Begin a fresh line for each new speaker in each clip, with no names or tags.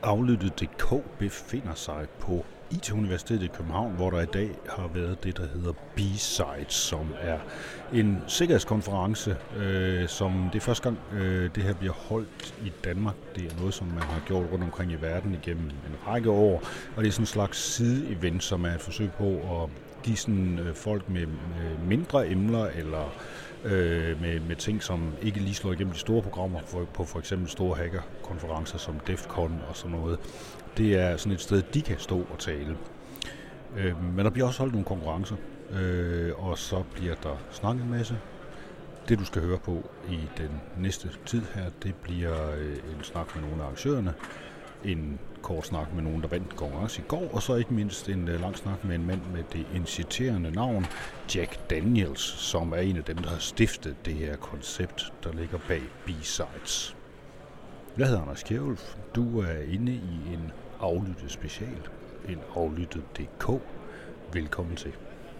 Aflyttet.dk befinder sig på IT-universitetet i København, hvor der i dag har været det, der hedder B-Sides, som er en sikkerhedskonference, som det er første gang, det her bliver holdt i Danmark. Det er noget, som man har gjort rundt omkring i verden igennem en række år, og det er sådan en slags side-event, som er et forsøg på at give sådan, folk med mindre emner eller med ting, som ikke lige slår igennem de store programmer på for eksempel store hackerkonferencer som DEF CON og sådan noget. Det er sådan et sted, de kan stå og tale. Men der bliver også holdt nogle konkurrencer, og så bliver der snakket en masse. Det, du skal høre på i den næste tid her, det bliver en snak med nogle af arrangørerne, en kort snak med nogen, der vandt konkurrence i går, og så ikke mindst en lang snak med en mand med det inciterende navn Jack Daniels, som er en af dem, der har stiftet det her koncept, der ligger bag B-Sides. Jeg hedder Anders Kjærulf. Du er inde i en aflyttet special, en aflyttet.dk. Velkommen til.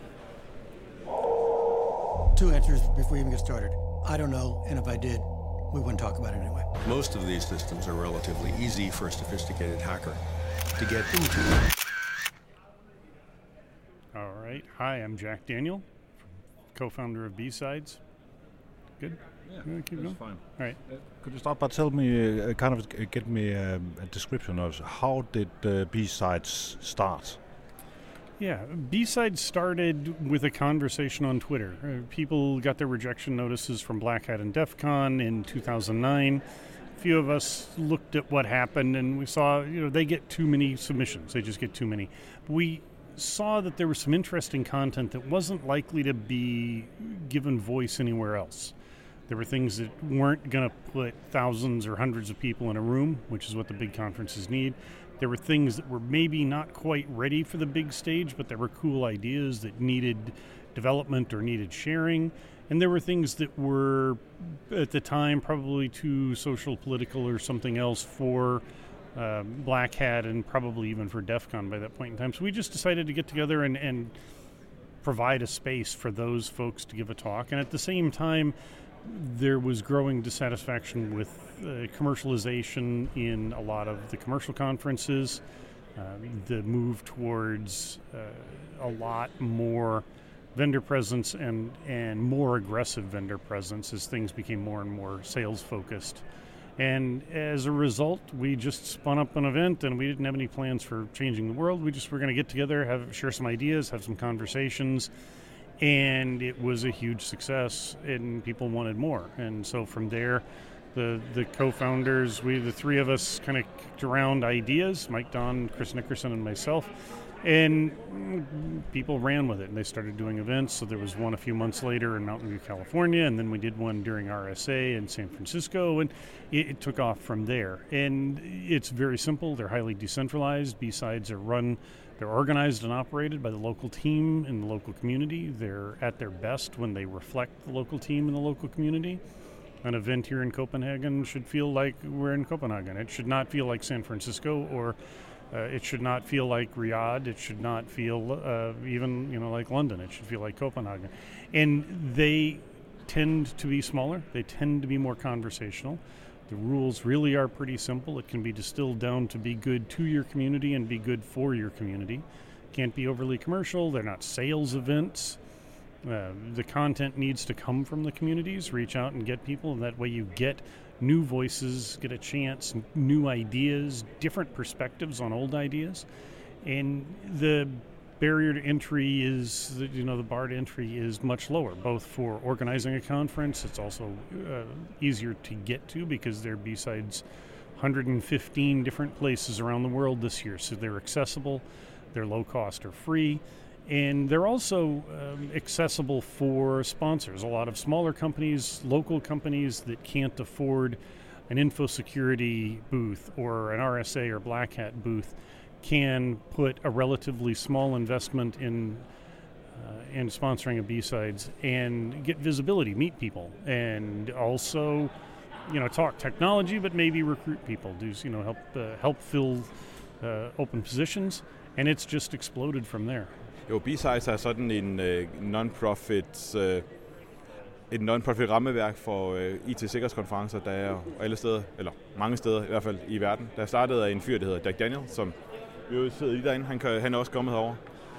Two answers before you even get started. I don't know, and if I did, we wouldn't talk about it anyway.
Most of these systems are relatively easy for a sophisticated hacker to get into.
All right. Hi, I'm Jack Daniel, co-founder of B-Sides. Good?
Yeah,
keep
that's
going?
fine.
All right.
Could you start by telling me, get me a description of how did B-Sides start?
Yeah, B-Sides started with a conversation on Twitter. People got their rejection notices from Black Hat and DEF CON in 2009. A few of us looked at what happened and we saw, they get too many submissions. They just get too many. We saw that there was some interesting content that wasn't likely to be given voice anywhere else. There were things that weren't going to put thousands or hundreds of people in a room, which is what the big conferences need. There were things that were maybe not quite ready for the big stage, but there were cool ideas that needed development or needed sharing. And there were things that were, at the time, probably too social, political, or something else for Black Hat and probably even for DEF CON by that point in time. So we just decided to get together and provide a space for those folks to give a talk. And at the same time, there was growing dissatisfaction with commercialization in a lot of the commercial conferences, the move towards a lot more vendor presence and more aggressive vendor presence as things became more and more sales focused. And as a result, we just spun up an event and we didn't have any plans for changing the world. We just were going to get together, share some ideas, have some conversations. And it was a huge success, and people wanted more. And so from there, the co-founders, the three of us kind of kicked around ideas, Mike Don, Chris Nickerson, and myself, and people ran with it. And they started doing events. So there was one a few months later in Mountain View, California, and then we did one during RSA in San Francisco, and it took off from there. And it's very simple. They're highly decentralized. B-Sides they're organized and operated by the local team in the local community. They're at their best when they reflect the local team in the local community. An event here in Copenhagen should feel like we're in Copenhagen. It should not feel like San Francisco, or it should not feel like Riyadh. It should not feel even like London. It should feel like Copenhagen. And they tend to be smaller. They tend to be more conversational. The rules really are pretty simple. It can be distilled down to be good to your community and be good for your community. Can't be overly commercial. They're not sales events. The content needs to come from the communities. Reach out and get people, and that way you get new voices, get a chance, new ideas, different perspectives on old ideas. And the barrier to entry is, the bar to entry is much lower, both for organizing a conference. It's also easier to get to because there are B-Sides 115 different places around the world this year. So they're accessible, they're low cost or free, and they're also accessible for sponsors. A lot of smaller companies, local companies that can't afford an info security booth or an RSA or Black Hat booth can put a relatively small investment in sponsoring a B-Sides and get visibility, meet people, and also, talk technology, but maybe recruit people, help fill open positions, and it's just exploded from there.
Jo, B-Sides er sådan en non-profit et non-profit rammeværk for IT-sikkerhedskonferencer, der er alle steder, eller mange steder i hvert fald i verden. Der startede af en fyr, der hedder Jack Daniel, som jo sidder lige derinde. Han er også kommet herover.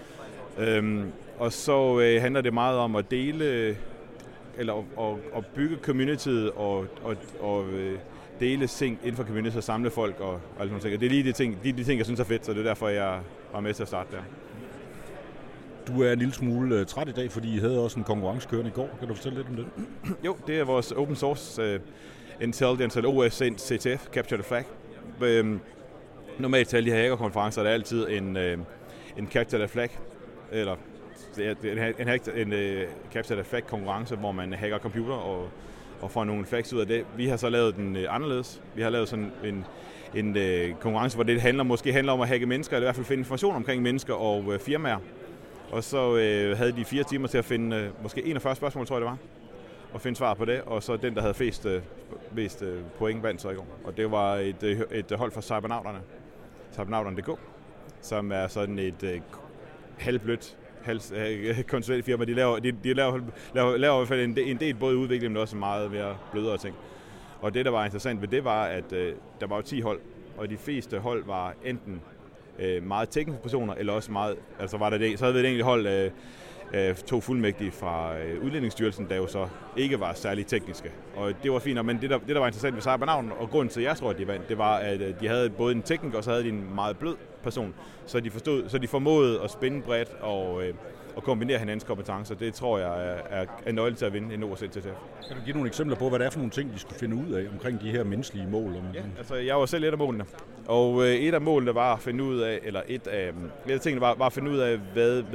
Og så handler det meget om at dele, eller at bygge communityet og dele ting inden for communityet og samle folk og alt sådan noget. Det er lige de ting, jeg synes er fedt, så det er derfor, jeg var med til at starte der.
Du er en lille smule træt i dag, fordi I havde også en konkurrence kørende i går. Kan du fortælle lidt om det?
Jo, det er vores open source intelligence, eller OSN CTF, Capture the Flag. Normalt til alle de her hackerkonferencer er der altid en Capture the Flag, eller en Capture the Flag konkurrence, hvor man hacker computer og får nogle flags ud af det. Vi har så lavet den anderledes. Vi har lavet sådan en konkurrence, hvor det måske handler om at hacke mennesker, eller i hvert fald finde information omkring mennesker og firmaer. Og så havde de 4 timer til at finde måske 41 spørgsmål, tror jeg det var, og finde svar på det. Og så den, der havde flest point, vandt så i går. Og det var et hold fra Cybernauterne.dk, som er sådan et halvblødt konsulentfirma. De laver i hvert fald en del både udvikling, men også meget mere blødere ting. Og det, der var interessant ved det, var, at der var jo 10 hold, og de fleste hold var enten meget tekniske personer, eller også meget, altså var der det, så havde vi et enkelt hold, 2 fuldmægtige fra Udlændingsstyrelsen, der jo så ikke var særlig tekniske. Og det var fint, men det der var interessant ved Cybernauten, og grunden til, at jeg tror, at de vandt, det var, at de havde både en tekniker, og så havde de en meget blød person, så de formåede at spænde bredt og kombinere hinandens kompetencer. Det tror jeg er nøgle til at vinde en OSN CTF.
Kan du give nogle eksempler på, hvad det er for nogle ting, de skulle finde ud af omkring de her menneskelige mål?
Ja, altså jeg var selv et af målene. Og et af målene var at finde ud af, eller et af tingene var at finde ud af,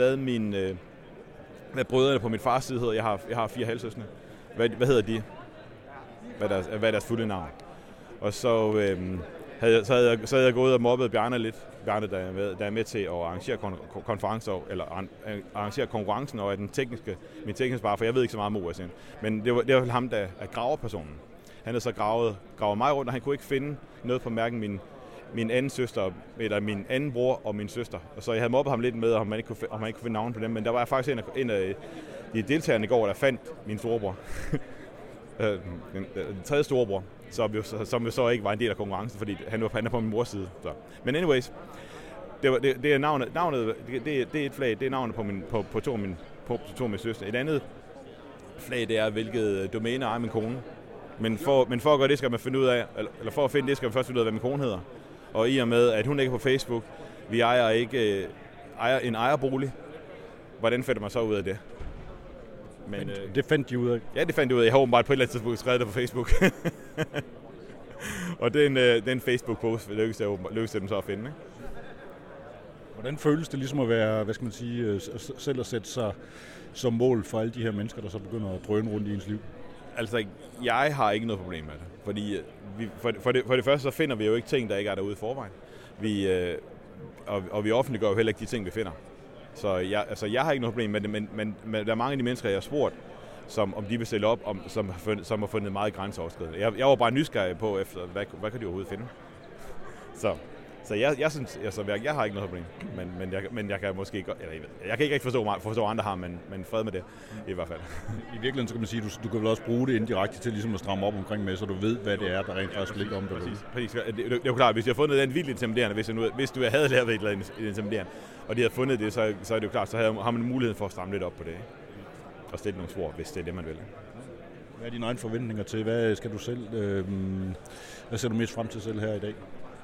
hvad brødrene på min fars side hedder. Jeg har 4 halvsøskende. Hvad hedder de? Hvad er deres fulde navn? Og så havde jeg gået og mobbet Bjarne lidt. Bjarne, der er med til at arrangere konferencer, eller arrangere konkurrencen, og min tekniske bare, for jeg ved ikke så meget om OSN. Men det var ham, der er graverpersonen. Han havde så gravet mig rundt, og han kunne ikke finde noget på hverken min anden søster, eller min anden bror og min søster. Og så jeg havde mobbet ham lidt med, om man ikke kunne finde navn på dem. Men der var faktisk en af de deltagerne i går, der fandt min storebror. Den tredje storebror, som jo så ikke var en del af konkurrencen, fordi han er på min mors side. Så. Men anyways, det er navnet, det er et flag, det er navnet på to af mine søstre. Et andet flag, det er, hvilket domæne ejer min kone. Men for at gøre det, skal man finde ud af, eller for at finde det, skal man først finde ud af, hvad min kone hedder. Og i og med, at hun ikke er på Facebook, vi ejer en ejerbolig, hvordan finder man så ud af det?
Men det fandt de ud af?
Ja, det fandt de ud af. Jeg har åbenbart på et eller andet tidspunkt skrevet det på Facebook. Og den Facebook-post lykkedes dem så at finde. Ikke?
Hvordan føles det ligesom at være, hvad skal man sige, selv at sætte sig som mål for alle de her mennesker, der så begynder at drøne rundt i ens liv?
Altså, jeg har ikke noget problem med det. Fordi for det første, så finder vi jo ikke ting, der ikke er derude i forvejen. Vi offentliggør jo heller ikke de ting, vi finder. Så jeg har ikke noget problem med det, men der er mange af de mennesker, jeg har spurgt, om de vil stille op, som har fundet meget grænseoverskridende. Jeg var bare nysgerrig på, efter hvad kan de overhovedet finde. Så jeg synes, jeg har ikke noget problem, men jeg kan måske ikke, jeg kan ikke rigtig forstå andre har, men fred med det i hvert fald.
I virkeligheden så kan man sige, du kan vel også bruge det indirekte til ligesom at stramme op omkring med, så du ved, hvad det er, der rent faktisk ligger om det.
Præcis. Det er jo klart, hvis jeg har fundet den vildt intimiderende, hvis du havde lavet et eller andet intimiderende, og de havde fundet det, så er det jo klart, så har man mulighed for at stramme lidt op på det, ikke? Og stille nogle spor, hvis det er det, man vil.
Hvad er dine egne forventninger til? Hvad skal du selv? Hvad ser du mest frem til selv her i dag?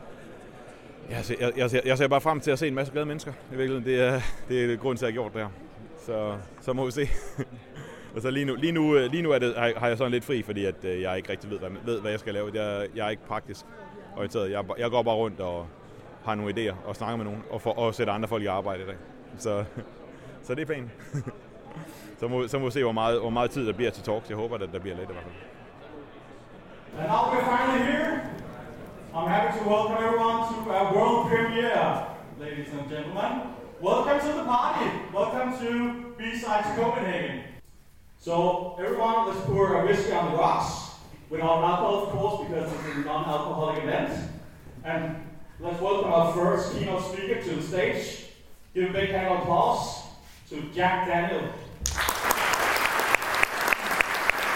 Jeg ser bare frem til at se en masse glade mennesker. I virkeligheden, det er grunden til, at jeg har gjort det her. Så må vi se. Og så lige nu er det, har jeg sådan lidt fri, fordi at jeg ikke rigtig ved, hvad jeg skal lave. Jeg er ikke praktisk orienteret. Jeg går bare rundt og har nogle idéer og snakker med nogen og sætter andre folk i arbejde i dag. Så det er planen. Så må vi se, hvor meget tid der bliver til talks. Jeg håber, at der bliver lidt i hvert fald.
And now we're finally here. I'm happy to welcome everyone to our world premiere, ladies and gentlemen. Welcome to the party. Welcome to B-Sides Copenhagen. So everyone, let's pour a whiskey on the rocks. Without alcohol, of course, because it's a non-alcoholic event. And let's welcome our first keynote speaker to the stage. Give a big hand of applause to Jack Daniel.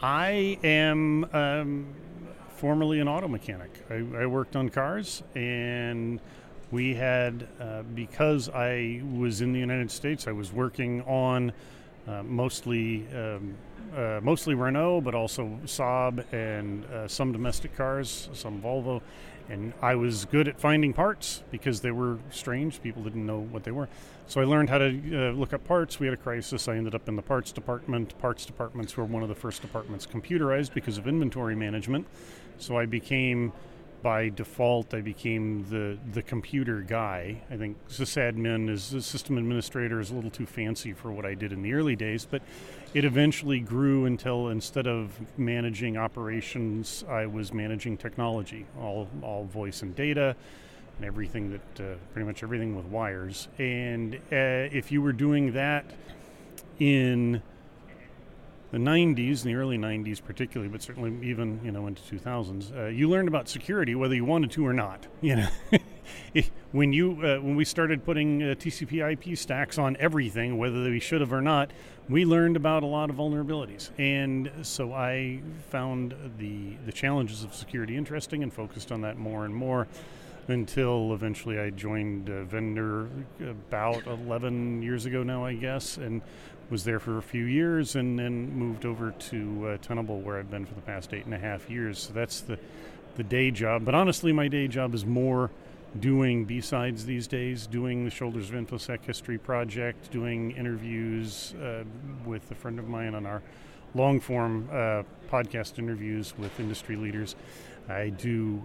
I am formerly an auto mechanic. I worked on cars, and we had, because I was in the United States, I was working on mostly Renault, but also Saab and some domestic cars, some Volvo. And I was good at finding parts because they were strange. People didn't know what they were. So I learned how to look up parts. We had a crisis. I ended up in the parts department. Parts departments were one of the first departments computerized because of inventory management. So I became, by default, the computer guy. I think sysadmin as a system administrator is a little too fancy for what I did in the early days, but it eventually grew until instead of managing operations, I was managing technology, all voice and data, and everything that pretty much everything with wires. And if you were doing that in the 90s, in the early 90s particularly, but certainly even into 2000s, you learned about security whether you wanted to or not. When we started putting TCP/IP stacks on everything, whether we should have or not, we learned about a lot of vulnerabilities. And so I found the challenges of security interesting and focused on that more and more until eventually I joined Vendor about 11 years ago now, I guess, and was there for a few years and then moved over to Tenable, where I've been for the past 8.5 years. So that's the day job. But honestly, my day job is more doing B-Sides these days, doing the Shoulders of InfoSec History project, doing interviews with a friend of mine on our long-form podcast interviews with industry leaders. I do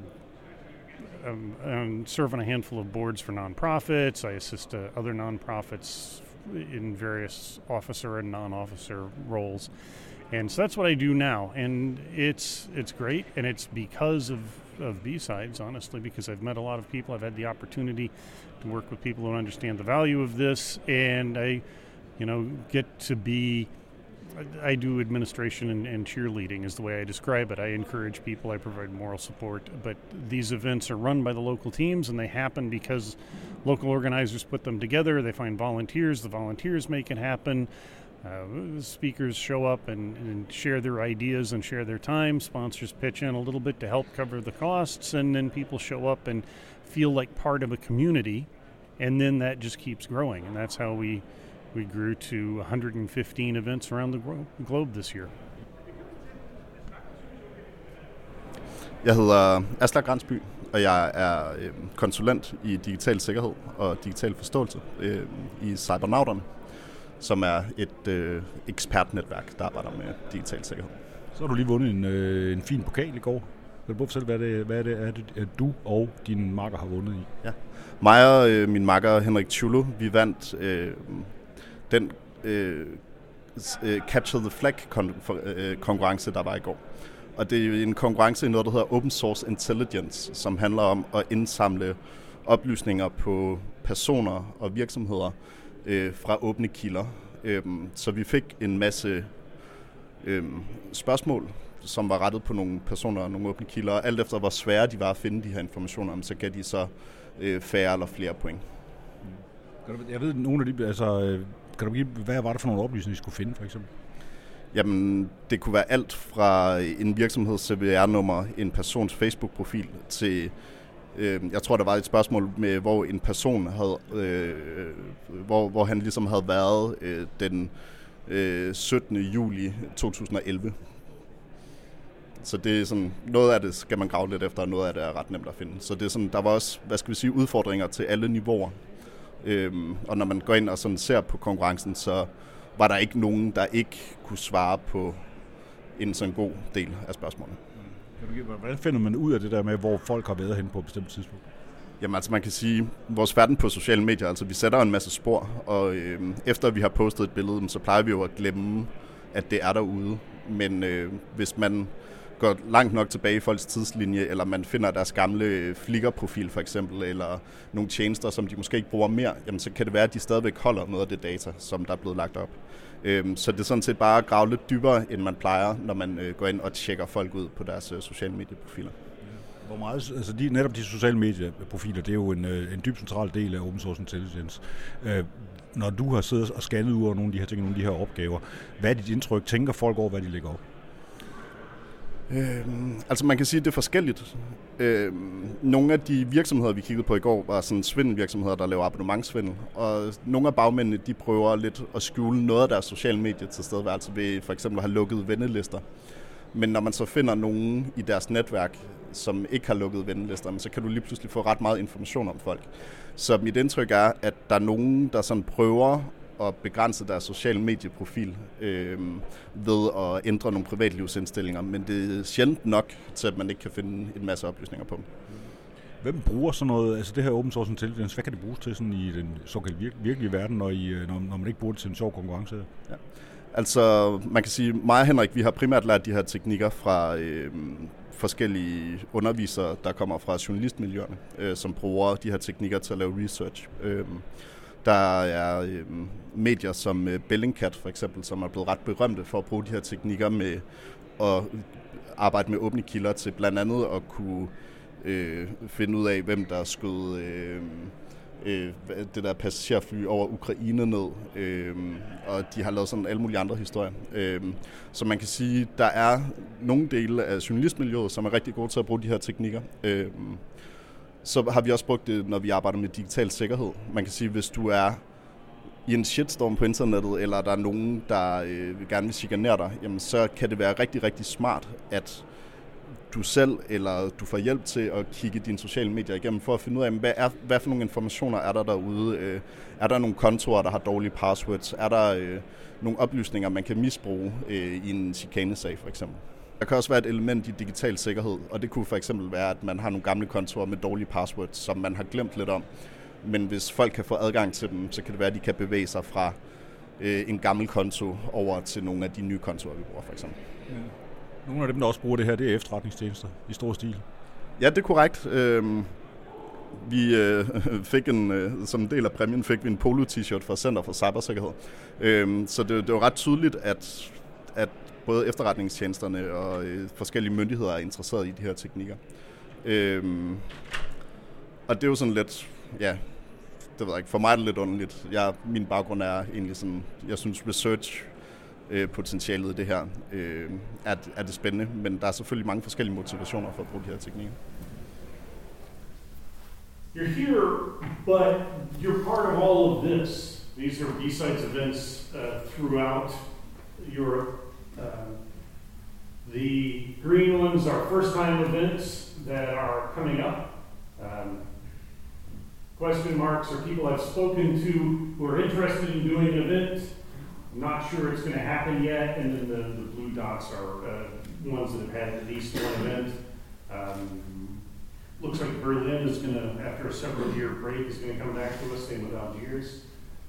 serve on a handful of boards for nonprofits. I assist other nonprofits in various officer and non-officer roles. And so that's what I do now. And it's great, and it's because of B-Sides, honestly, because I've met a lot of people. I've had the opportunity to work with people who understand the value of this, and I get to be... I do administration and cheerleading is the way I describe it. I encourage people, I provide moral support, but these events are run by the local teams, and they happen because local organizers put them together. They find volunteers, the volunteers make it happen. The speakers show up and share their ideas and share their time. Sponsors pitch in a little bit to help cover the costs, and then people show up and feel like part of a community, and then that just keeps growing, and that's how we grew to 115 events around the globe this year.
Jeg hedder Aslak Gransby, og jeg er konsulent i digital sikkerhed og digital forståelse i Cybernauterne, som er et ekspertnetværk, der arbejder med digital sikkerhed.
Så har du lige vundet en fin pokal i går. Vil du fortælle, hvad det er, du og din makker har vundet i?
Ja. Mig og min makker Henrik Tjulo, vi vandt den Capture the Flag konkurrence, der var i går. Og det er en konkurrence i noget, der hedder Open Source Intelligence, som handler om at indsamle oplysninger på personer og virksomheder fra åbne kilder. Så vi fik en masse spørgsmål, som var rettet på nogle personer og nogle åbne kilder. Og alt efter hvor svære de var at finde de her informationer, så gav de så færre eller flere point.
Jeg ved, nogle af de... kan du give, hvad var det for nogle oplysninger, I skulle finde, for eksempel?
Jamen, det kunne være alt fra en virksomheds CVR-nummer, en persons Facebook-profil, til... jeg tror, der var et spørgsmål med, hvor en person havde... hvor han ligesom havde været den 17. juli 2011. Så det er sådan... Noget af det skal man grave lidt efter, og noget af det er ret nemt at finde. Så det er sådan, der var også, udfordringer til alle niveauer. Og når man går ind og sådan ser på konkurrencen, så var der ikke nogen, der ikke kunne svare på en sådan god del af spørgsmålene.
Hvordan finder man ud af det der med, hvor folk har været henne på et bestemt tidspunkt?
Jamen altså man kan sige, vores færden på sociale medier, altså vi sætter en masse spor, og efter vi har postet et billede, så plejer vi jo at glemme, at det er derude. Men hvis man går langt nok tilbage i folks tidslinje, eller man finder deres gamle Flickr-profil for eksempel, eller nogle tjenester, som de måske ikke bruger mere, jamen så kan det være, at de stadigvæk holder noget af det data, som der er blevet lagt op. Så det er sådan set bare at grave lidt dybere, end man plejer, når man går ind og tjekker folk ud på deres sociale medieprofiler.
Hvor meget, altså netop de sociale medieprofiler, det er jo en dyb central del af Open Source Intelligence. Når du har siddet og scannet ud over nogle af de her ting, nogle af de her opgaver, hvad er dit indtryk? Tænker folk over, hvad de lægger op?
Altså man kan sige, at det er forskelligt. Nogle af de virksomheder, vi kiggede på i går, var sådan svindelvirksomheder, der laver abonnementsvindel. Og nogle af bagmændene, de prøver lidt at skjule noget af deres sociale medier til stedværelse ved for eksempel at have lukket vennelister. Men når man så finder nogen i deres netværk, som ikke har lukket vennelister, så kan du lige pludselig få ret meget information om folk. Så mit indtryk er, at der er nogen, der sådan prøver at begrænse deres sociale medieprofil ved at ændre nogle privatlivsindstillinger, men det er sjældent nok til, at man ikke kan finde en masse oplysninger på dem.
Hvem bruger sådan noget, altså det her open source intelligence, hvad kan det bruges til sådan i den såkaldt virkelige verden, når man ikke bruger det til en sjov konkurrence?
Ja. Altså, man kan sige, mig og Henrik, vi har primært lært de her teknikker fra forskellige undervisere, der kommer fra journalistmiljøerne, som bruger de her teknikker til at lave research. Der er medier som Bellingcat for eksempel, som er blevet ret berømte for at bruge de her teknikker med at arbejde med åbne kilder til blandt andet at kunne finde ud af, hvem der skød det der passagerfly over Ukraine ned, og de har lavet sådan alle mulige andre historier. Så man kan sige, der er nogle dele af journalistmiljøet, som er rigtig gode til at bruge de her teknikker. Så har vi også brugt det, når vi arbejder med digital sikkerhed. Man kan sige, hvis du er i en shitstorm på internettet, eller der er nogen, der gerne vil chikanere dig, jamen, så kan det være rigtig, rigtig smart, at du selv eller du får hjælp til at kigge dine sociale medier igennem, for at finde ud af, hvad for nogle informationer er der derude. Er der nogle kontorer, der har dårlige passwords? Er der nogle oplysninger, man kan misbruge i en chikanesag for eksempel? Der kan også være et element i digital sikkerhed, og det kunne for eksempel være, at man har nogle gamle kontorer med dårlige passwords, som man har glemt lidt om. Men hvis folk kan få adgang til dem, så kan det være, at de kan bevæge sig fra en gammel konto over til nogle af de nye kontorer, vi bruger for eksempel.
Ja. Nogle af dem, der også bruger det her, det er efterretningstjenester i stor stil.
Ja, det er korrekt. Vi fik som en del af præmien fik vi en polo-t-shirt fra Center for Cybersikkerhed. Så det var ret tydeligt, at både efterretningstjenesterne og forskellige myndigheder er interesseret i de her teknikker. Og det er jo sådan lidt, ja, det ved jeg ikke, for mig er det lidt underligt. Min baggrund er egentlig sådan, jeg synes research potentialet i det her er det spændende, men der er selvfølgelig mange forskellige motivationer for at bruge de her teknikker.
You're here, but you're part of all of this. These are B-Sides events throughout Europe. The green ones are first-time events that are coming up. Question marks are people I've spoken to who are interested in doing an event. I'm not sure it's going to happen yet, and then the blue dots are ones that have had at least one event. Looks like Berlin is going to, after a several-year break, is going to come back to us, same with Algiers.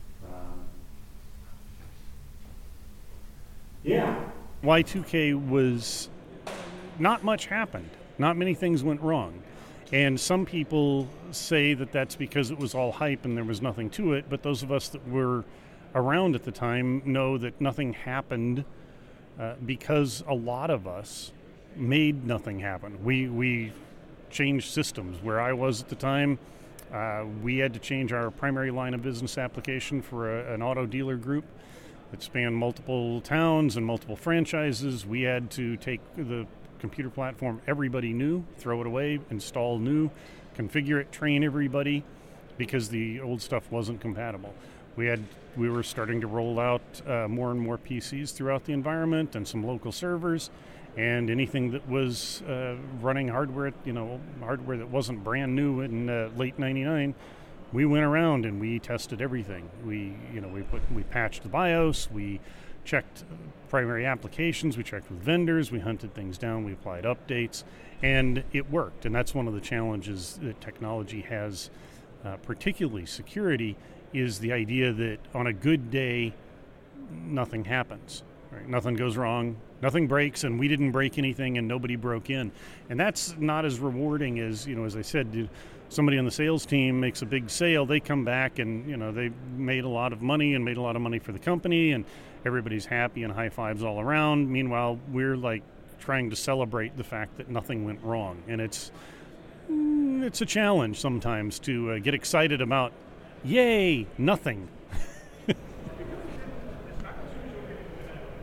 Yeah. Y2K was, not much happened. Not many things went wrong. And some people say that that's because it was all hype and there was nothing to it, but those of us that were around at the time know that nothing happened because a lot of us made nothing happen. We changed systems. Where I was at the time, we had to change our primary line of business application for an auto dealer group that spanned multiple towns and multiple franchises. We had to take the computer platform everybody knew, throw it away, install new, configure it, train everybody, because the old stuff wasn't compatible. We were starting to roll out more and more PCs throughout the environment and some local servers, and anything that was running hardware that wasn't brand new in late '99, we went around and we tested everything. We patched the BIOS, we checked primary applications, we checked with vendors, we hunted things down, we applied updates, and it worked. And that's one of the challenges that technology has, particularly security, is the idea that on a good day, nothing happens. Right? Nothing goes wrong, nothing breaks, and we didn't break anything, and nobody broke in. And that's not as rewarding as, as I said, somebody on the sales team makes a big sale, they come back and, they made a lot of money and made a lot of money for the company, and everybody's happy and high fives all around. Meanwhile, we're like trying to celebrate the fact that nothing went wrong. And it's a challenge sometimes to get excited about, yay, nothing.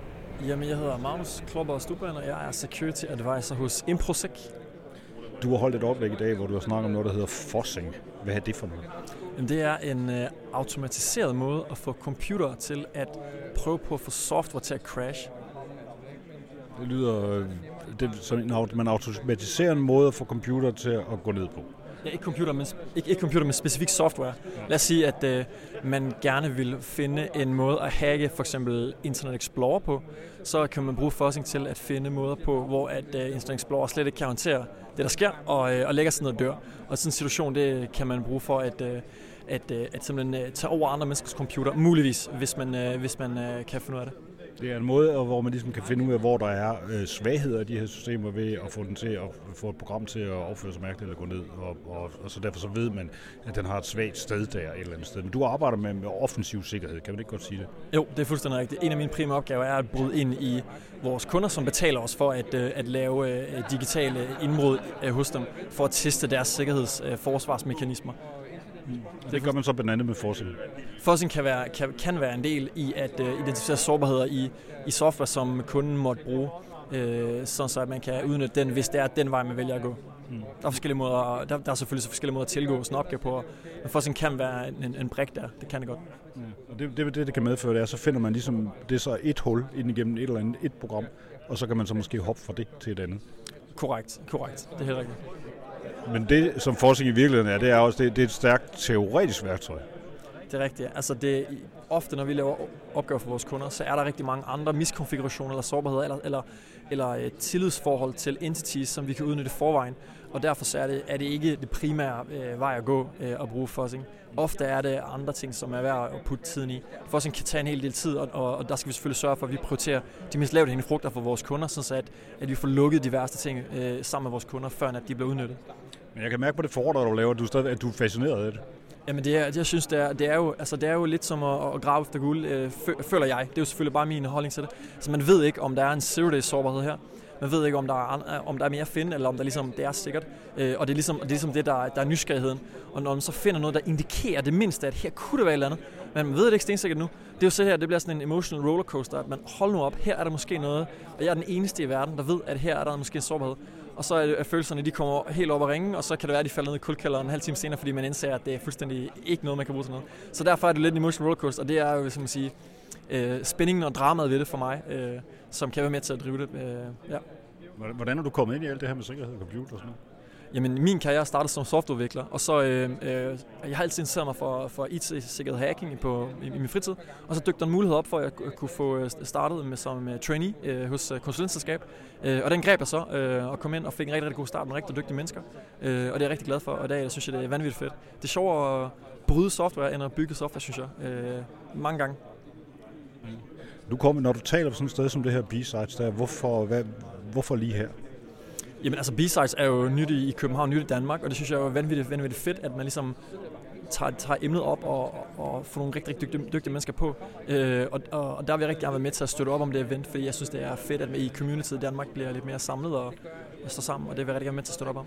Jamen, jeg hedder Magnus Klopper Stubben, og jeg er Security Advisor hos Improsec.
Du har holdt et oplæg i dag, hvor du har snakket om noget, der hedder fuzzing. Hvad er det for noget?
Jamen, det er en automatiseret måde at få computer til at prøve på at få software til at crash.
Det lyder som man automatiserer en måde at få computer til at gå ned på.
Ja, ikke computer, men specifik software. Lad os sige, at man gerne vil finde en måde at hacke for eksempel Internet Explorer på. Så kan man bruge fuzzing til at finde måder på, hvor at Internet Explorer slet ikke kan håndtere det, der sker, og lægger sig ned og dør. Og sådan en situation, det kan man bruge for at simpelthen tage over andre menneskers computer, muligvis, hvis man kan finde ud af det.
Det er en måde, hvor man ligesom kan finde ud af, hvor der er svagheder i de her systemer ved at få den til at få et program til at opføre sig mærkeligt eller gå ned. Og så derfor så ved man, at den har et svagt sted der et eller andet sted. Men du arbejder med offensiv sikkerhed, kan man ikke godt sige det?
Jo, det er fuldstændig rigtigt. En af mine primære opgaver er at bryde ind i vores kunder, som betaler os for at lave digitale indbrud hos dem, for at teste deres sikkerhedsforsvarsmekanismer.
Det gør man så blandt andet med fuzzing.
Fuzzing kan være en del i at identificere sårbarheder i software, som kunden måtte bruge, sådan så at man kan udnytte den, hvis det er den vej, man vælger at gå. Der er forskellige måder, der er selvfølgelig så forskellige måder at tilgå sådan en opgave på, men fuzzing kan være en brik der, det kan det godt.
Og det kan medføre, det er, så finder man ligesom, det er så et hul ind igennem et eller andet et program, og så kan man så måske hoppe fra det til et andet.
Korrekt, det er helt rigtigt.
Men det, som fuzzing i virkeligheden er, det er også det er et stærkt teoretisk værktøj.
Det er rigtigt. Altså ofte, når vi laver opgaver for vores kunder, så er der rigtig mange andre miskonfigurationer eller sårbarheder eller tillidsforhold til entities, som vi kan udnytte forvejen. Og derfor så er det ikke det primære vej at gå at bruge fuzzing. Ofte er det andre ting, som er værd at putte tiden i. Fuzzing kan tage en hel del tid, og der skal vi selvfølgelig sørge for, at vi prioriterer de mest lavt hængende frugter for vores kunder, så at vi får lukket de værste ting sammen med vores kunder, før at de bliver udnyttet.
Men jeg kan mærke på det foredrag, du laver, at du er fascineret af det.
Jamen jeg synes, det er jo lidt som at grave efter guld, føler jeg. Det er jo selvfølgelig bare min holdning til det. Så man ved ikke, om der er en zero-day sårbarhed her. Man ved ikke, om der er mere at finde, eller om der ligesom, det er sikkert. Og det er ligesom det, der er nysgerrigheden. Og når man så finder noget, der indikerer det mindste, at her kunne det være et eller andet, men man ved det ikke stensikkert nu. Det er jo så her, det bliver sådan en emotional rollercoaster, at man holder nu op, her er der måske noget, og jeg er den eneste i verden, der ved, at her er der måske en sårbarhed. Og så er følelserne, de kommer helt op at ringe, og så kan det være, at de falder ned i kuldkælderen en halv time senere, fordi man indser, at det er fuldstændig ikke noget, man kan bruge til noget. Så derfor er det lidt en emotional rollercoaster, og det er jo, som man siger, spændingen og dramaet ved det for mig, som kan være med til at drive det. Ja.
Hvordan er du kommet ind i alt det her med sikkerhed og computer og sådan noget?
Jamen, min karriere startede som softwareudvikler, og så jeg har altid interesseret mig for IT-sikkerhed hacking i min fritid, og så dykte der en mulighed op for, at jeg kunne få startet som trainee hos konsulentselskab, og den greb jeg så og kom ind og fik en rigtig, rigtig god start med rigtig dygtige mennesker, og det er jeg rigtig glad for, og i dag synes jeg, det er vanvittigt fedt. Det er sjovere at bryde software, end at bygge software, synes jeg, mange gange.
Når du taler på sådan et sted som det her B-Sides, der, hvorfor lige her?
Jamen altså, B-Sides er jo nyt i København, nyt i Danmark, og det synes jeg er vanvittigt fedt, at man ligesom tager emnet op og får nogle rigtig, rigtig dygtige mennesker på. Og der vil jeg rigtig gerne være med til at støtte op om det event, fordi jeg synes, det er fedt, at vi i communityet i Danmark bliver lidt mere samlet og står sammen, og det vil jeg rigtig gerne med til at støtte op om.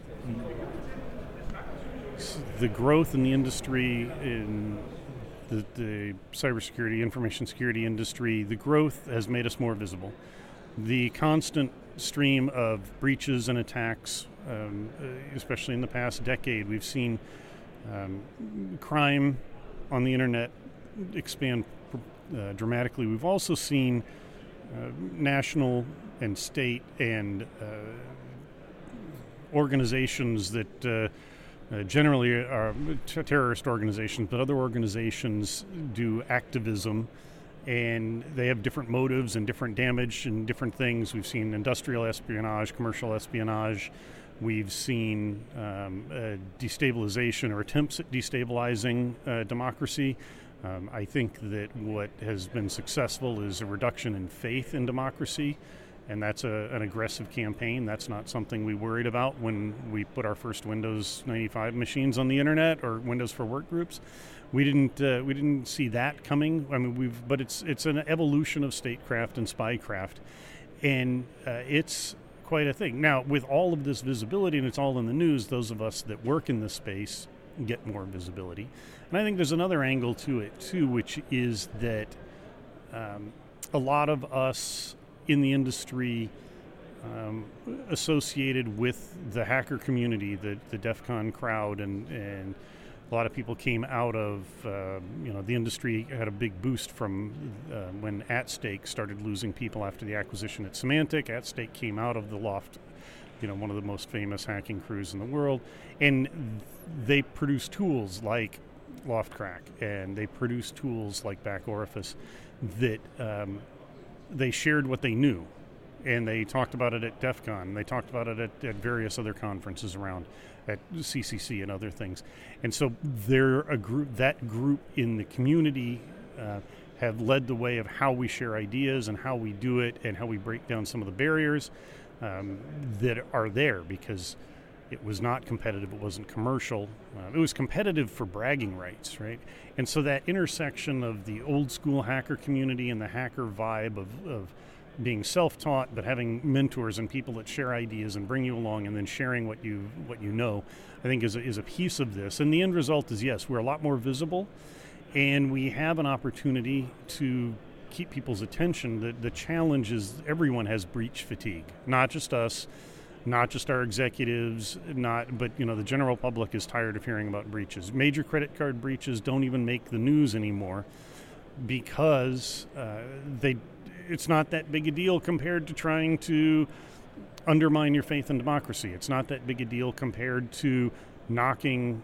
The growth in the industry, in the cybersecurity, information security industry, the growth has made us more visible. The constant stream of breaches and attacks, especially in the past decade, we've seen crime on the internet expand dramatically. We've also seen national and state and organizations that generally are terrorist organizations, but other organizations do activism, and they have different motives and different damage and different things. We've seen industrial espionage, commercial espionage. We've seen destabilization or attempts at destabilizing democracy. I think that what has been successful is a reduction in faith in democracy, and that's an aggressive campaign. That's not something we worried about when we put our first Windows 95 machines on the internet or Windows for Workgroups. We didn't see that coming. I mean, but it's an evolution of statecraft and spycraft, and it's quite a thing. Now, with all of this visibility, and it's all in the news, those of us that work in this space get more visibility. And I think there's another angle to it too, which is that a lot of us in the industry associated with the hacker community, the DEF CON crowd, and a lot of people came out of, the industry had a big boost from when AtStake started losing people after the acquisition at Symantec. AtStake came out of the Loft, one of the most famous hacking crews in the world, and they produce tools like LoftCrack, and they produce tools like Back Orifice that they shared what they knew. And they talked about it at DEF CON. They talked about it at various other conferences around, at CCC and other things. And so they're a group. That group in the community have led the way of how we share ideas and how we do it and how we break down some of the barriers that are there, because it was not competitive. It wasn't commercial. It was competitive for bragging rights, right? And so that intersection of the old school hacker community and the hacker vibe of being self-taught, but having mentors and people that share ideas and bring you along, and then sharing what you know, I think is a piece of this. And the end result is, yes, we're a lot more visible, and we have an opportunity to keep people's attention. The challenge is everyone has breach fatigue, not just us, not just our executives, but the general public is tired of hearing about breaches. Major credit card breaches don't even make the news anymore because it's not that big a deal compared to trying to undermine your faith in democracy. It's not that big a deal compared to knocking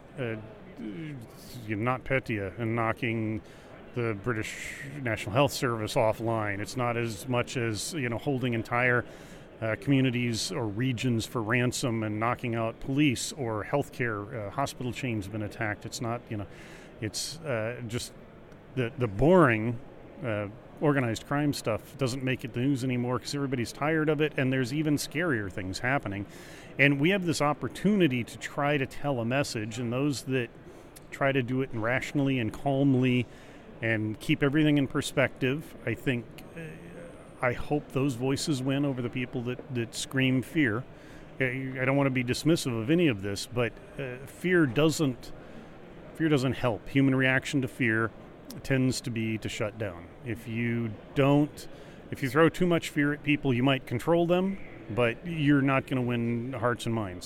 NotPetya and knocking the British National Health Service offline. It's not as much as holding entire communities or regions for ransom and knocking out police or healthcare. Hospital chains have been attacked. It's not, it's just the boring organized crime stuff doesn't make it the news anymore because everybody's tired of it, and there's even scarier things happening. And we have this opportunity to try to tell a message, and those that try to do it rationally and calmly and keep everything in perspective, I hope those voices win over the people that scream fear. I don't want to be dismissive of any of this, but fear doesn't help. Human reaction to fear tends to be to shut down. If you throw too much fear at people, you might control them, but you're not going to win hearts and minds.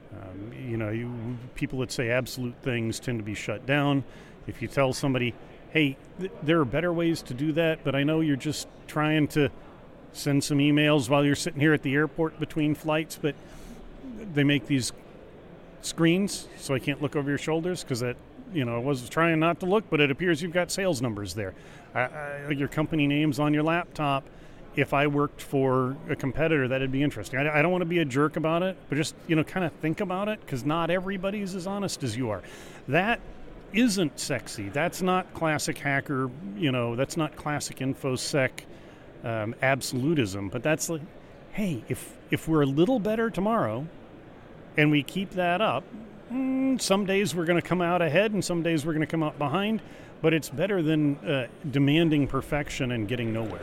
People that say absolute things tend to be shut down. If you tell somebody, hey, there are better ways to do that, but I know you're just trying to send some emails while you're sitting here at the airport between flights, but they make these screens so I can't look over your shoulders because that, I was trying not to look, but it appears you've got sales numbers there. Your company name's on your laptop. If I worked for a competitor, that'd be interesting. I don't want to be a jerk about it, but just, kind of think about it, because not everybody's as honest as you are. That isn't sexy. That's not classic hacker, that's not classic InfoSec absolutism. But that's like, hey, if we're a little better tomorrow and we keep that up, some days we're going to come out ahead and some days we're going to come out behind, but it's better than demanding perfection and getting nowhere.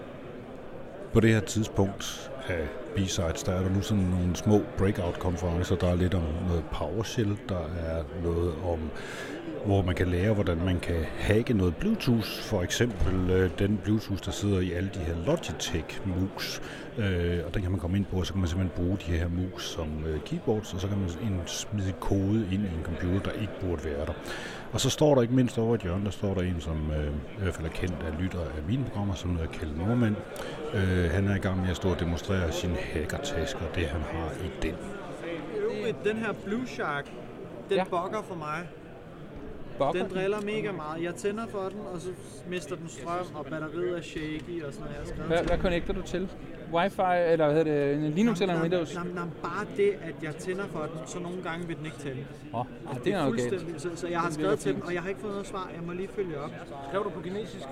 På det her tidspunkt af B-Sides, der er der nu sådan nogle små breakout-konferencer. Der er lidt om noget PowerShell, der er noget om, hvor man kan lære, hvordan man kan hacke noget Bluetooth. For eksempel den Bluetooth, der sidder i alle de her Logitech-mus. Og den kan man komme ind på, og så kan man simpelthen bruge de her mus som keyboards, og så kan man smide kode ind i en computer, der ikke burde være der. Og så står der ikke mindst over et hjørne, der står der en, som i hvert fald er kendt af lytter af mine programmer, som hedder Kjeld Norman. Han er i gang med at stå og demonstrere sine hackertasker, det han har i den.
Den her Blue Shark, den bugger for mig. Den driller mega meget. Jeg tænder for den, og så mister den strøm, og batteriet er shaky og sådan noget.
Hvad connecter du til? Wi-Fi, eller hvad hedder det, en Linux eller en Windows?
Bare det, at jeg tænder for den, så nogle gange vil den ikke tænde.
Det er noget galt.
Så jeg har skrevet til dem, og jeg har ikke fået noget svar. Jeg må lige følge op.
Skrev du på kinesisk?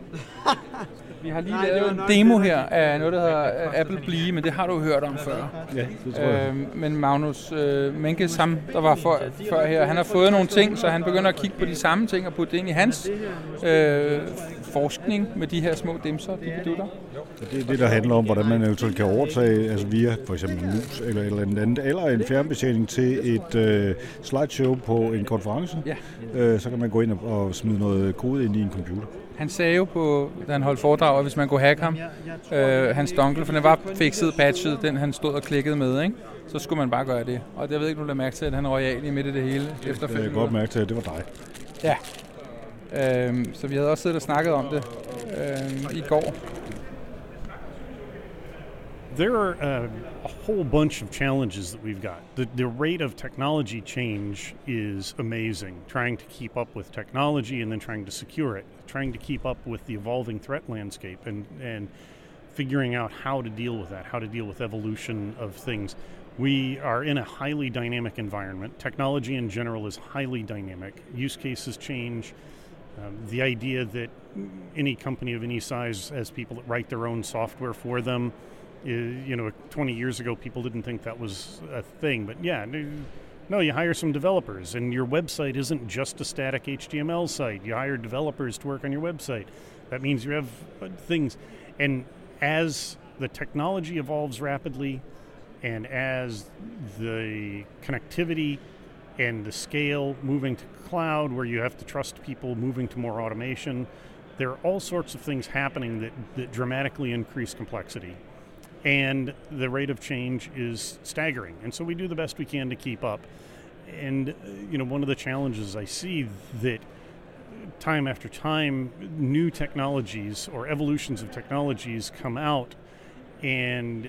Vi har lige lavet en demo her af noget, der hedder Apple Blee, men det har du hørt om før.
Ja, det tror jeg.
Men Magnus Menkes, der var før her, han har fået nogle ting, så han begynder at kigge på de samme ting og putte det ind i hans forskning med de her små dimser, de bedutter.
Det er det, der handler om, hvordan man eventuelt kan overtage, altså via for eksempel en mus eller andet, eller en fjernbetjening til et slideshow på en konference. Ja. Så kan man gå ind og smide noget kode ind i en computer.
Han sagde jo, da han holdt foredrag, at hvis man kunne hacke ham, hans dongle, for den var fikset, patchet, den han stod og klikkede med, ikke? Så skulle man bare gøre det. Og jeg ved ikke, du lader mærke til, at han royal i midt i det hele efterfølgende.
Jeg kan godt mærke til, at det var dig.
Ja. Så vi havde også siddet og snakket om det i går.
There are a whole bunch of challenges that we've got. The rate of technology change is amazing. Trying to keep up with technology and then trying to secure it. Trying to keep up with the evolving threat landscape and figuring out how to deal with that, how to deal with evolution of things. We are in a highly dynamic environment. Technology in general is highly dynamic. Use cases change. The idea that any company of any size has people that write their own software for them, 20 years ago, people didn't think that was a thing. But yeah, no, you hire some developers, and your website isn't just a static HTML site. You hire developers to work on your website. That means you have things. And as the technology evolves rapidly, and as the connectivity and the scale moving to cloud, where you have to trust people, moving to more automation, there are all sorts of things happening that dramatically increase complexity. And the rate of change is staggering. And so we do the best we can to keep up. And, one of the challenges I see that time after time, new technologies or evolutions of technologies come out, and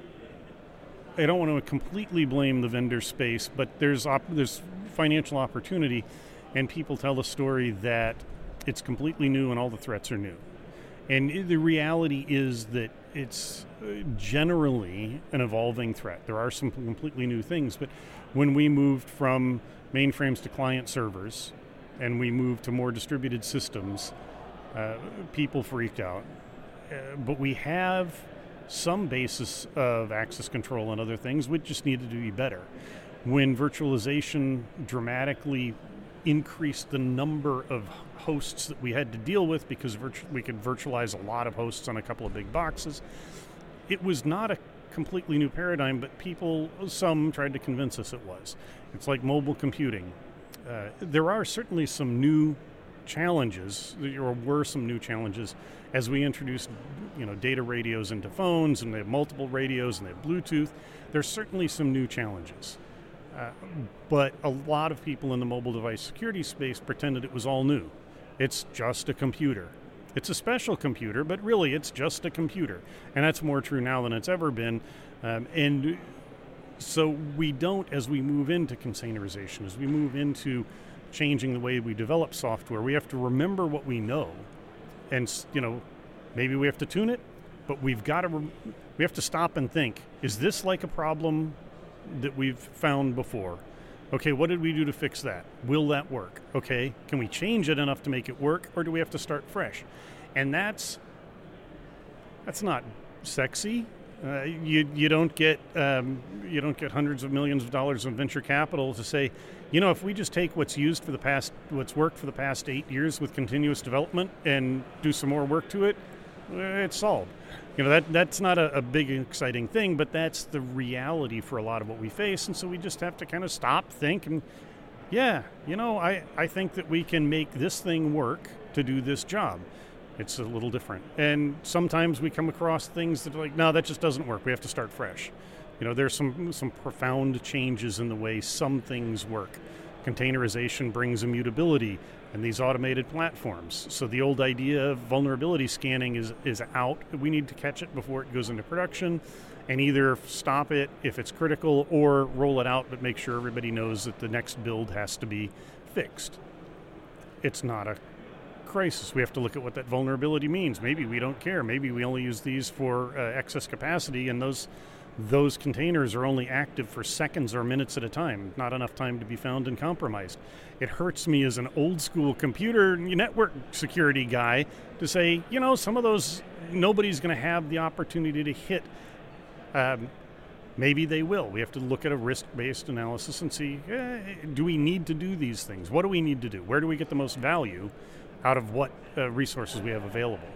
I don't want to completely blame the vendor space, but there's financial opportunity, and people tell the story that it's completely new and all the threats are new. And the reality is that it's generally an evolving threat. There are some completely new things, but when we moved from mainframes to client servers and we moved to more distributed systems, people freaked out. But we have some basis of access control and other things. We just needed to be better. When virtualization dramatically increased the number of hosts that we had to deal with, because we could virtualize a lot of hosts on a couple of big boxes, it was not a completely new paradigm, but some tried to convince us it was. It's like mobile computing. There are certainly some new challenges, or were some new challenges, as we introduced data radios into phones, and they have multiple radios and they have Bluetooth. There's certainly some new challenges. But a lot of people in the mobile device security space pretended it was all new. It's just a computer. It's a special computer, but really it's just a computer. And that's more true now than it's ever been. And so we don't, as we move into containerization, as we move into changing the way we develop software, we have to remember what we know. And, maybe we have to tune it, but we have to stop and think, is this like a problem that we've found before? Okay, what did we do to fix that? Will that work? Okay, can we change it enough to make it work, or do we have to start fresh? And that's not sexy. You don't get hundreds of millions of dollars of venture capital to say, if we just take what's worked for the past 8 years with continuous development and do some more work to it, it's solved. That's not a big exciting thing, but that's the reality for a lot of what we face. And so we just have to kind of stop, think, and I think that we can make this thing work to do this job. It's a little different. And sometimes we come across things that are like, no, that just doesn't work. We have to start fresh. There's some profound changes in the way some things work. Containerization brings immutability and these automated platforms. So the old idea of vulnerability scanning is out. We need to catch it before it goes into production and either stop it if it's critical or roll it out, but make sure everybody knows that the next build has to be fixed. It's not a crisis. We have to look at what that vulnerability means. Maybe we don't care. Maybe we only use these for excess capacity, and those containers are only active for seconds or minutes at a time, not enough time to be found and compromised. It hurts me as an old school computer network security guy to say, some of those, nobody's going to have the opportunity to hit. Maybe they will. We have to look at a risk-based analysis and see, do we need to do these things? What do we need to do? Where do we get the most value out of what resources we have available?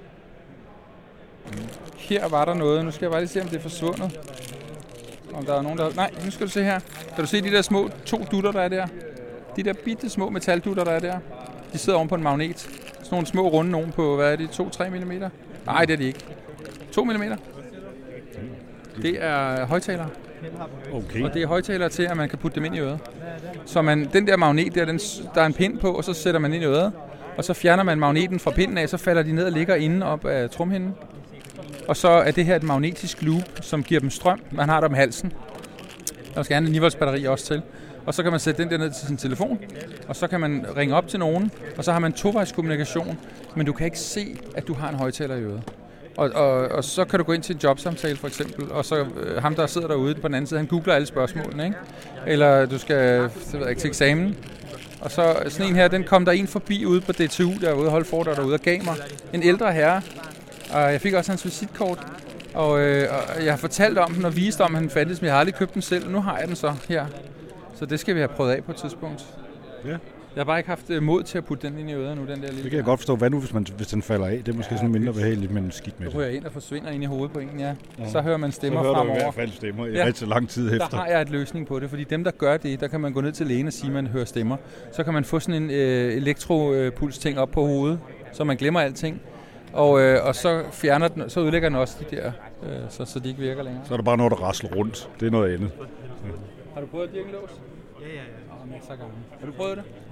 Her var der noget. Nu skal jeg bare lige se, om det er forsvundet. Om der er nogen, der... Nej, nu skal du se her. Kan du se de der små 2 dutter, der er der? De der bitte små metaldutter, der er der? De sidder oven på en magnet. Sådan nogle små runde nogen på, hvad er det, 2-3 mm? Nej, det er de ikke. 2 mm. Det er højtalere.
Okay.
Og det er højtalere til, at man kan putte dem ind i øret. Så den der magnet, der er en pind på, og så sætter man ind i øret. Og så fjerner man magneten fra pinden af, så falder de ned og ligger inde op af trumhinden. Og så er det her et magnetisk loop, som giver dem strøm. Man har der om halsen. Der skal gerne en 9 batteri også til. Og så kan man sætte den der ned til sin telefon, og så kan man ringe op til nogen, og så har man tovejskommunikation, men du kan ikke se, at du har en højtaler i øret. Og så kan du gå ind til en jobsamtale for eksempel, og så ham, der sidder derude på den anden side, han googler alle spørgsmålene, ikke? Eller du skal til eksamen. Og så sådan en her, den kom der en forbi ude på DTU, der var ude og holde foredrag derude og gav mig en ældre herre. Og jeg fik også hans visitkort, og jeg har fortalt om den og vist om, at han fandtes, men jeg har aldrig købt den selv, og nu har jeg den så her. Så det skal vi have prøvet af på et tidspunkt.
Ja.
Jeg har bare ikke haft mod til at putte den ind i øret nu, den der lille.
Det kan jeg godt forstå. Hvad nu, hvis den falder af? Det er måske sådan mindre behageligt, men skidt med det.
Så ryger jeg ind og forsvinder ind i hovedet på en, ja. Så hører man stemmer fremover.
Så hører du i hvert fald stemmer i rigtig lang tid efter.
Der har jeg et løsning på det, fordi dem, der gør det, der kan man gå ned til lægen og sige, at man hører stemmer. Så kan man få sådan en elektropuls-ting op på hovedet, så man glemmer alting. Og så fjerner den, så ødelægger den også de der, så de ikke virker længere.
Så er der bare noget, der rasler rundt. Det er noget andet.
Ja. Har du prøvet dirkelås?
Ja.
Har du prøvet det? Ja.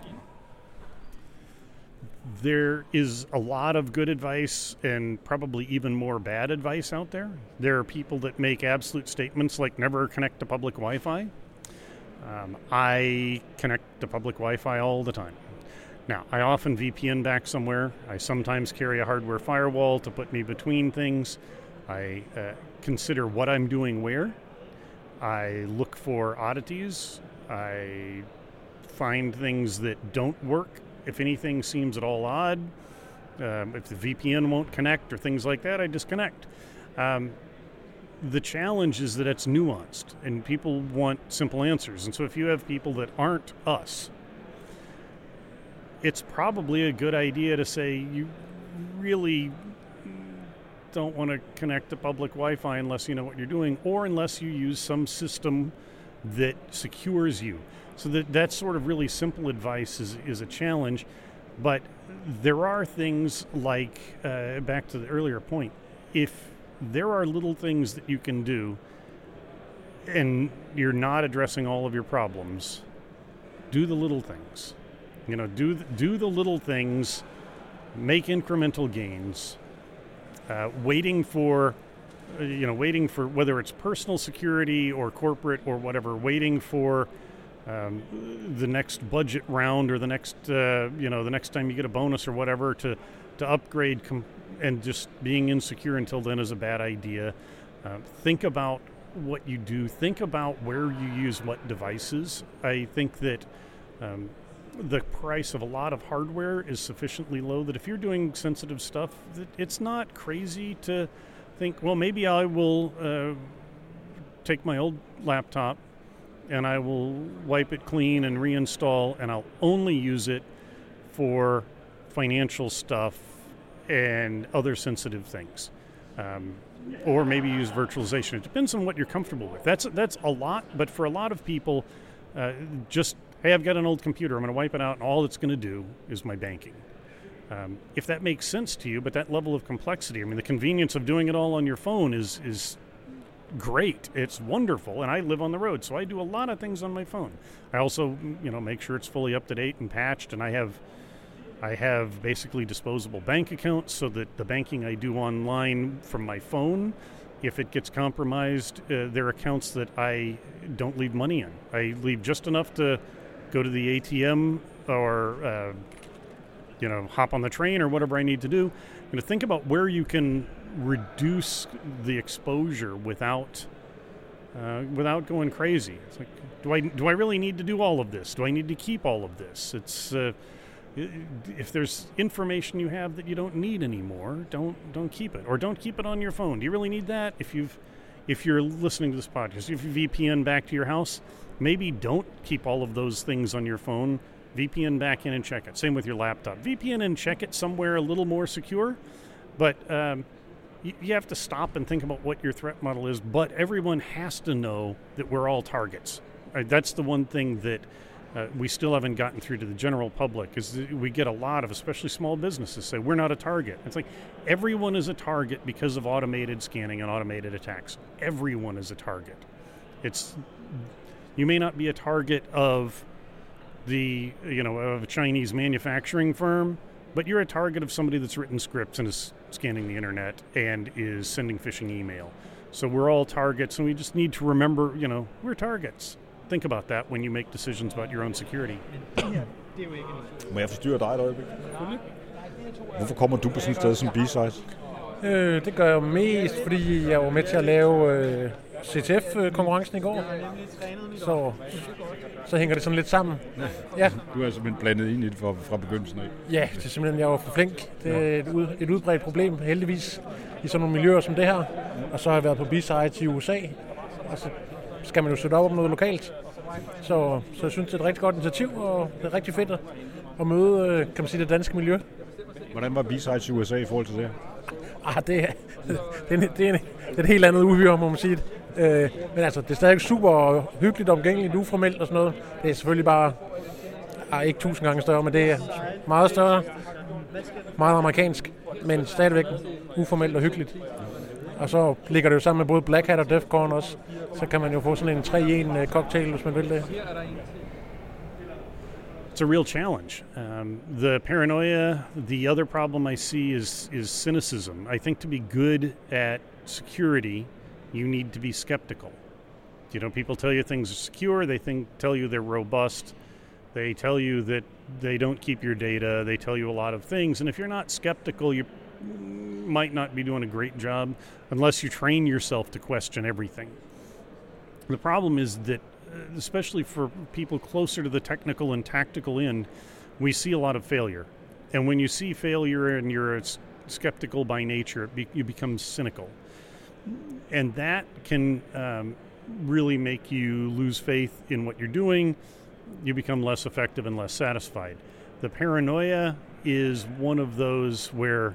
There is a lot of good advice and probably even more bad advice out there. There are people that make absolute statements like never connect to public Wi-Fi. I connect to public Wi-Fi all the time. Now, I often VPN back somewhere. I sometimes carry a hardware firewall to put me between things. I consider what I'm doing where. I look for oddities. I find things that don't work. If anything seems at all odd, if the VPN won't connect or things like that, I disconnect. The challenge is that it's nuanced and people want simple answers. And so if you have people that aren't us, it's probably a good idea to say you really don't want to connect to public Wi-Fi unless you know what you're doing or unless you use some system that secures you. So that sort of really simple advice is a challenge. But there are things like, back to the earlier point, if there are little things that you can do and you're not addressing all of your problems, do the little things. You know, do the little things, make incremental gains, waiting for whether it's personal security or corporate or whatever, waiting for the next budget round or the next time you get a bonus or whatever to upgrade and just being insecure until then is a bad idea. Think about what you do. Think about where you use what devices. I think that the price of a lot of hardware is sufficiently low that if you're doing sensitive stuff, it's not crazy to think, well, maybe I will take my old laptop and I will wipe it clean and reinstall, and I'll only use it for financial stuff and other sensitive things. Or maybe use virtualization. It depends on what you're comfortable with. That's a lot, but for a lot of people, hey, I've got an old computer, I'm going to wipe it out, and all it's going to do is my banking. If that makes sense to you, but that level of complexity, I mean, the convenience of doing it all on your phone is great. It's wonderful, and I live on the road, so I do a lot of things on my phone. I also, make sure it's fully up to date and patched, and I have basically disposable bank accounts so that the banking I do online from my phone, if it gets compromised, they're accounts that I don't leave money in. I leave just enough to go to the ATM or hop on the train or whatever I need to do. Think about where you can reduce the exposure without going crazy. It's like, do I really need to do all of this? Do I need to keep all of this? It's if there's information you have that you don't need anymore, don't keep it, or don't keep it on your phone. Do you really need that? If you're listening to this podcast, if you VPN back to your house, maybe don't keep all of those things on your phone. VPN back in and check it. Same with your laptop. VPN and check it somewhere a little more secure, but you have to stop and think about what your threat model is. But everyone has to know that we're all targets. That's the one thing that we still haven't gotten through to the general public. Is we get a lot of, especially small businesses, say we're not a target. It's like everyone is a target because of automated scanning and automated attacks. Everyone is a target. You may not be a target of of a Chinese manufacturing firm, but you're a target of somebody that's written scripts and is scanning the internet and is sending phishing email. So we're all targets, and we just need to remember, we're targets. Think about that when you make decisions about your own security.
Må jeg forstyrre dig et øjeblik? Hvorfor kommer du på sådan et sted som B-Side?
Det gør jeg mest, fordi jeg var med til at lave CTF-konkurrencen i går. Så hænger det sådan lidt sammen.
Ja. Du er simpelthen blandet ind i det fra begyndelsen af?
Ja, det er simpelthen, jeg var for flink. Det er et udbredt problem, heldigvis, i sådan nogle miljøer som det her. Og så har jeg været på B-Side i USA, og så skal man jo sætte op om noget lokalt. Så jeg synes, det er et rigtig godt initiativ, og det er rigtig fedt at møde, kan man sige, det danske miljø.
Hvordan var B-Side i USA i forhold til det?
Det er et helt andet uhyre, må man sige. Men altså, det er stadig super hyggeligt, omgængeligt, uformelt og sådan noget. Det er selvfølgelig bare ikke 1000 gange større, men det er meget større, meget amerikansk, men stadigvæk uformelt og hyggeligt. Og så ligger det jo sammen med både Black Hat og DEF CON også. Så kan man jo få sådan en 3-1 cocktail, hvis man vil det.
It's a real challenge. The paranoia, the other problem I see is cynicism. I think to be good at security, you need to be skeptical. People tell you things are secure, tell you they're robust, they tell you that they don't keep your data, they tell you a lot of things, and if you're not skeptical, you might not be doing a great job unless you train yourself to question everything. The problem is that, especially for people closer to the technical and tactical end, we see a lot of failure. And when you see failure and you're skeptical by nature, you become cynical. And that can really make you lose faith in what you're doing. You become less effective and less satisfied. The paranoia is one of those where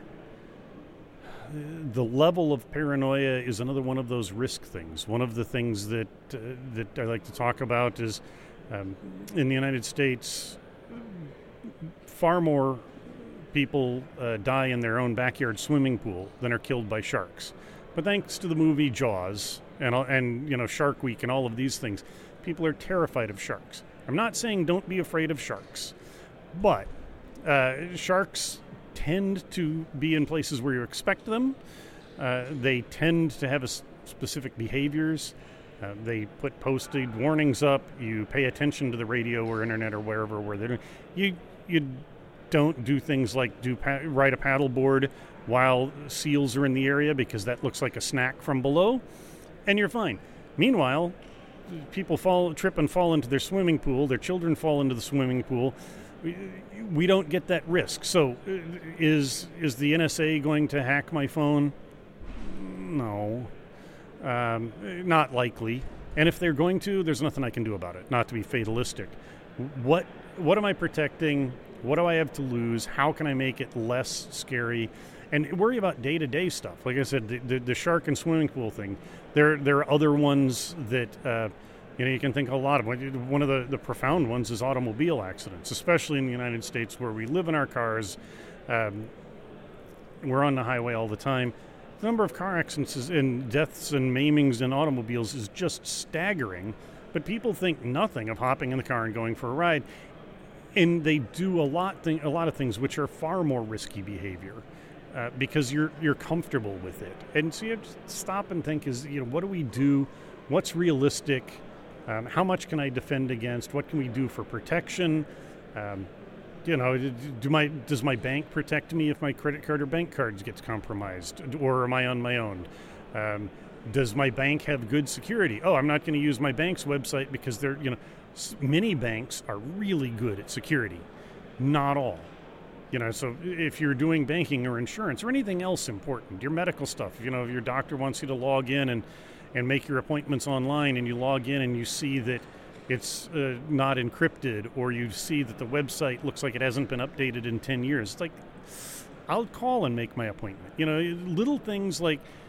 the level of paranoia is another one of those risk things. One of the things that I like to talk about is in the United States, far more people die in their own backyard swimming pool than are killed by sharks. But thanks to the movie Jaws and Shark Week and all of these things, people are terrified of sharks. I'm not saying don't be afraid of sharks, but sharks tend to be in places where you expect them. They tend to have specific behaviors. They put posted warnings up. You pay attention to the radio or internet or wherever where they're doing. You don't do things like ride a paddleboard while seals are in the area because that looks like a snack from below, and you're fine. Meanwhile, people trip and fall into their swimming pool. Their children fall into the swimming pool. We don't get that risk. So is the NSA going to hack my phone? No. Not likely. And if they're going to, there's nothing I can do about it, not to be fatalistic. What am I protecting? What do I have to lose? How can I make it less scary? And worry about day-to-day stuff. Like I said, the shark and swimming pool thing. There are other ones that you can think a lot of. One of the profound ones is automobile accidents, especially in the United States where we live in our cars. We're on the highway all the time. The number of car accidents and deaths and maimings in automobiles is just staggering. But people think nothing of hopping in the car and going for a ride. And they do a lot of things which are far more risky behavior. Because you're comfortable with it, and so you have to stop and think: what do we do? What's realistic? How much can I defend against? What can we do for protection? Does my bank protect me if my credit card or bank cards gets compromised, or am I on my own? Does my bank have good security? Oh, I'm not going to use my bank's website because many banks are really good at security, not all. So if you're doing banking or insurance or anything else important, your medical stuff, if your doctor wants you to log in and make your appointments online, and you log in and you see that it's not encrypted, or you see that the website looks like it hasn't been updated in 10 years, it's like, I'll call and make my appointment. Little things like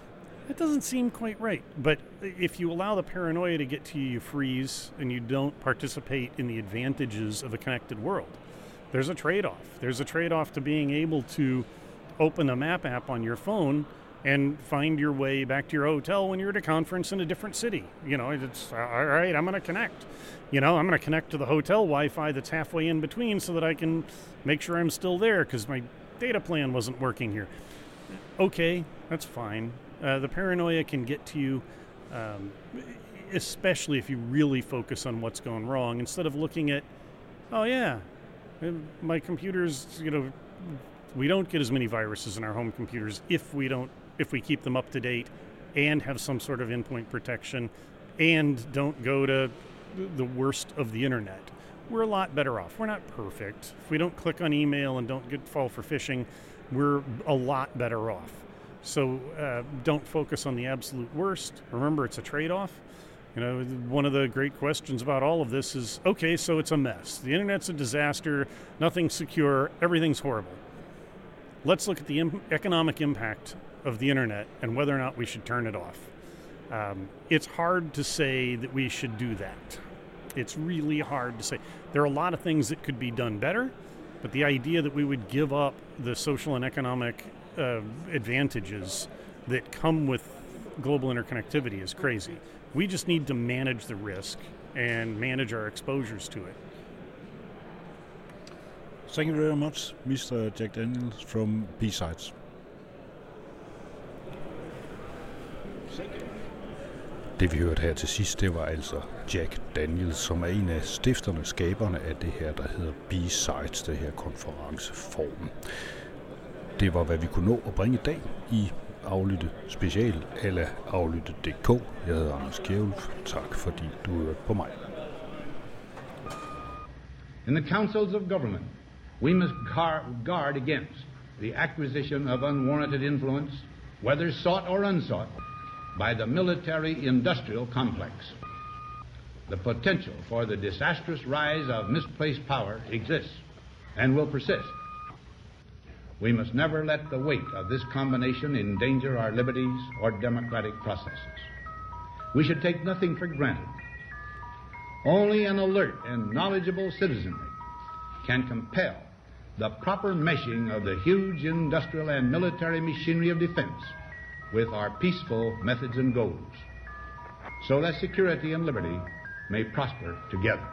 That doesn't seem quite right. But if you allow the paranoia to get to you, you freeze, and you don't participate in the advantages of a connected world. There's a trade-off. There's a trade-off to being able to open a map app on your phone and find your way back to your hotel when you're at a conference in a different city. You know, it's, all right, I'm going to connect. You know, I'm going to connect to the hotel Wi-Fi that's halfway in between so that I can make sure I'm still there because my data plan wasn't working here. Okay, that's fine. The paranoia can get to you, especially if you really focus on what's gone wrong, instead of looking at, oh yeah, my computers, you know, we don't get as many viruses in our home computers if we keep them up to date and have some sort of endpoint protection and don't go to the worst of the internet. We're a lot better off. We're not perfect. If we don't click on email and don't fall for phishing, we're a lot better off. So don't focus on the absolute worst. Remember, it's a trade-off. You know, one of the great questions about all of this is, okay, so it's a mess. The internet's a disaster. Nothing's secure. Everything's horrible. Let's look at the economic impact of the internet and whether or not we should turn it off. It's hard to say that we should do that. It's really hard to say. There are a lot of things that could be done better, but the idea that we would give up the social and economic advantages that come with global interconnectivity is crazy. We just need to manage the risk and manage our exposures to it.
Thank you very much, Mr. Jack Daniels from B-Sides. Det vi hørte her til sidst, det var altså Jack Daniels, som er en af stifterne, skaberne af det her, der hedder B-Sides, det her konferenceform. Det var, hvad vi kunne nå at bringe i dag i Aflytte Special eller aflytte.dk. Jeg hedder Anders Kjærulf. Tak fordi du hørte på mig.
In the councils of government, we must guard against the acquisition of unwarranted influence, whether sought or unsought, by the military-industrial complex. The potential for the disastrous rise of misplaced power exists and will persist. We must never let the weight of this combination endanger our liberties or democratic processes. We should take nothing for granted. Only an alert and knowledgeable citizenry can compel the proper meshing of the huge industrial and military machinery of defense with our peaceful methods and goals, so that security and liberty may prosper together.